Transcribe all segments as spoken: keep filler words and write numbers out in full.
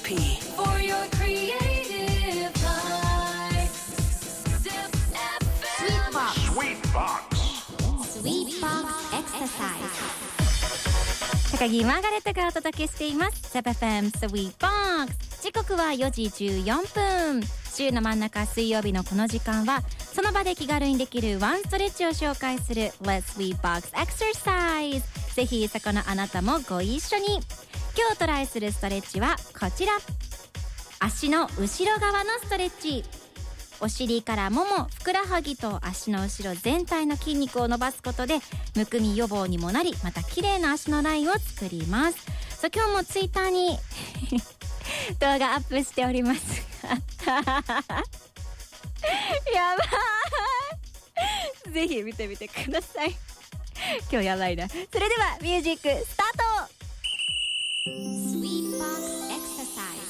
ピー For your creative life Zip エフエム Sweet Box Sweet Box Exercise 高木マーガレットがお届けしています ゼップエフエム Sweet Box 時刻はよじじゅうよんぷん。週の真ん中水曜日のこの時間はその場で気軽にできるワンストレッチを紹介する Let's Sweet Box Exercise。 ぜひそこのあなたもご一緒に。今日トライするストレッチはこちら。足の後ろ側のストレッチ。お尻からもも、ふくらはぎと足の後ろ全体の筋肉を伸ばすことでむくみ予防にもなり、また綺麗な足のラインを作ります。そう、今日もツイッターに動画アップしておりますやばいぜひ見てみてください今日やばいな。それではミュージックスタート。 Sweet Box Exercise。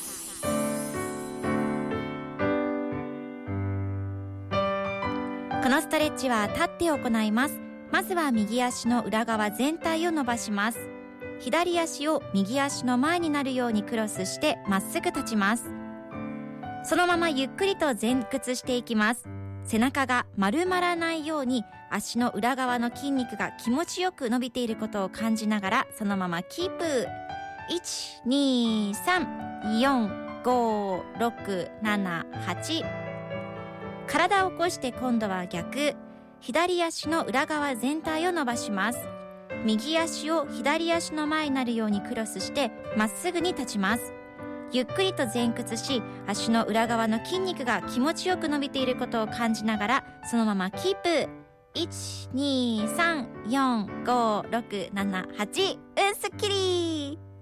このストレッチは立って行います。まずは右足の裏側全体を伸ばします。左足を右足の前になるようにクロスしてまっすぐ立ちます。そのままゆっくりと前屈していきます。背中が丸まらないように足の裏側の筋肉が気持ちよく伸びていることを感じながらそのままキープ。いち、に、さん、よん、ご、ろく、なな、はち。体を起こして今度は逆。左足の裏側全体を伸ばします。右足を左足の前になるようにクロスしてまっすぐに立ちます。ゆっくりと前屈し、足の裏側の筋肉が気持ちよく伸びていることを感じながらそのままキープ。いち、に、さん、よん、ご、ろく、なな、はち。うん、すっきり。